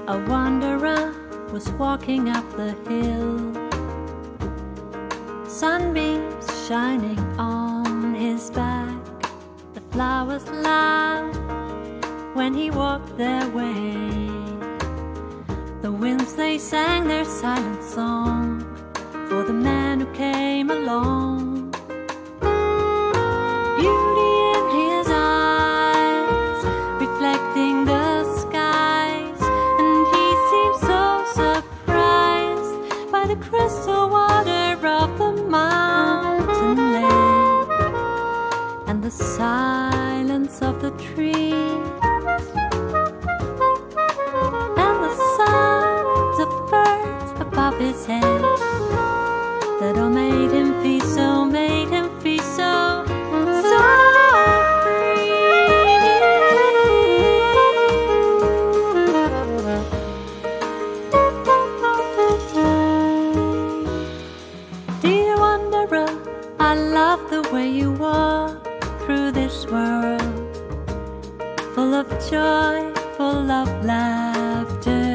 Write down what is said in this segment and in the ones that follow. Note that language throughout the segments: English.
A wanderer was walking up the hill, sunbeams shining on his back. The flowers laughed when he walked their way. The winds, they sang their silent song for the man who came along. Beauty in his eyes, reflecting the skies, and he seemed so surprised by the crystal water of the mountain lake and the silence of the trees and the sounds of birds above his head that all made him feel so, made him feel so, so free. Dear wanderer, I love the way you walk through this world, full of joy, full of laughter.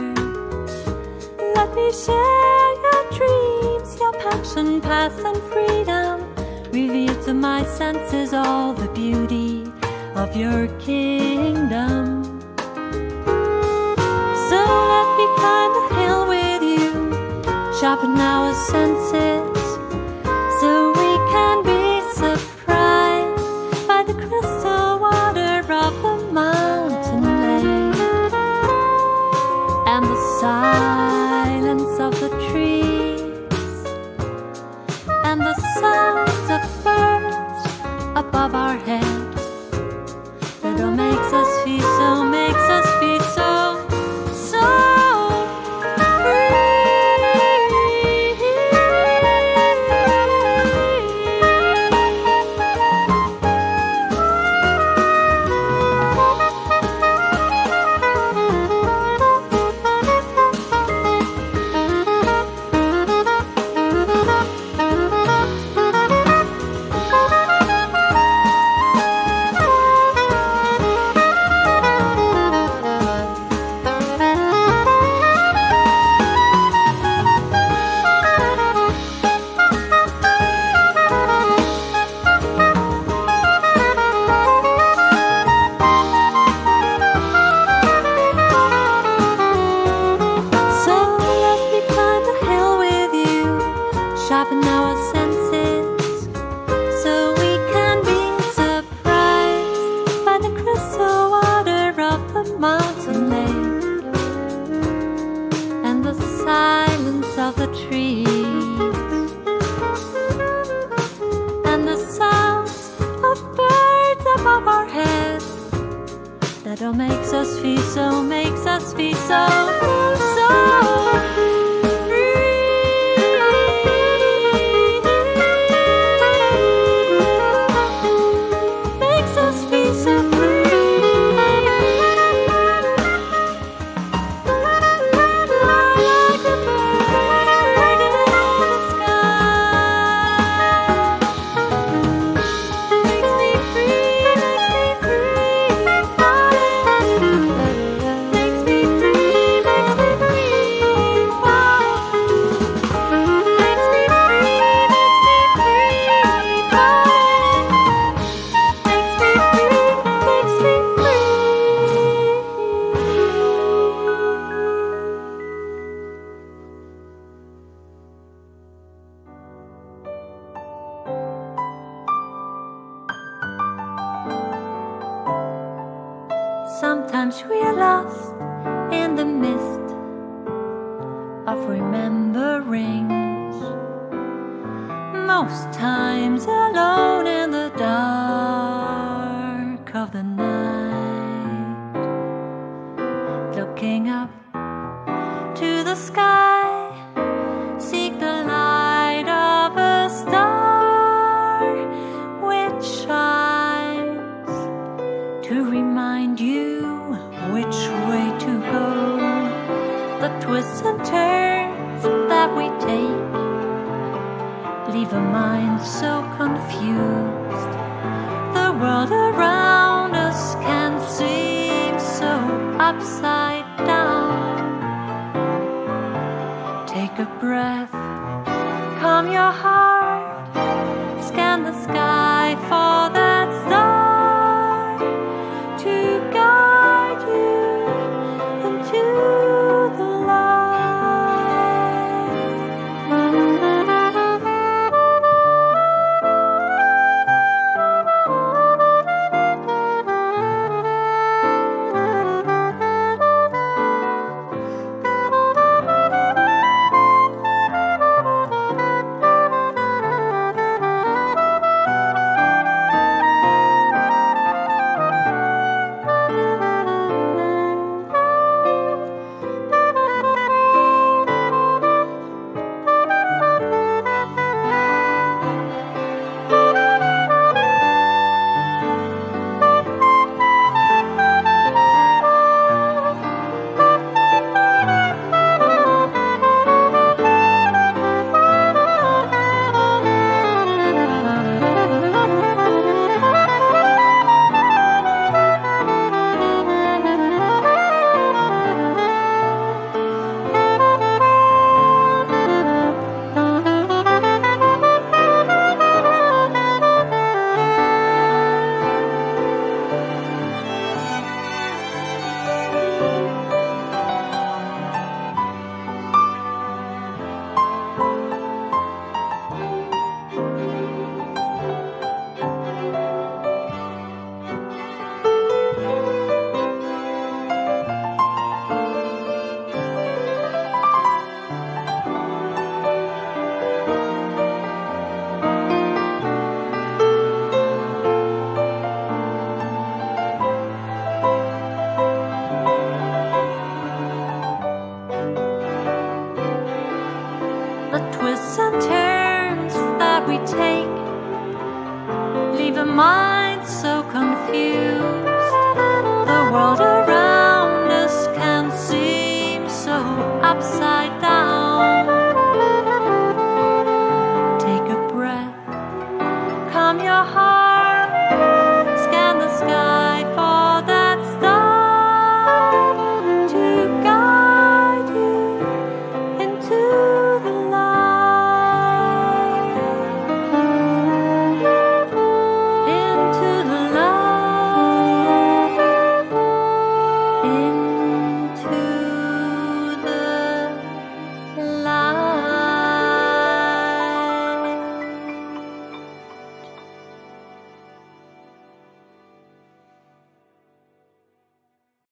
Let me share your dreams, your passion, past and freedom. Reveal to my senses all the beauty of your kingdom. So let me climb the hill with you, sharpen our senses, so we can be surprised by the crystal water of the mountain lake and the silence of the trees and the sounds of birds above our heads that all makes us feel so, makes us feel so, so free. Sharpen our senses, so we can be surprised by the crystal water of the mountain lake and the silence of the trees and the sounds of birds above our heads that all makes us feel so, makes us feel so, so sometimes we are lost in the mist of rememberings, most times alone in the dark of the night, looking up to the sky, seek the light of a star which shines to remind you which way to go. The twists and turns that we take leave a mind so confused. The world around us can seem so upside down. take a breath, calm your heart, scan the sky for that star to guide you into the The twists and turns that we take leave a mind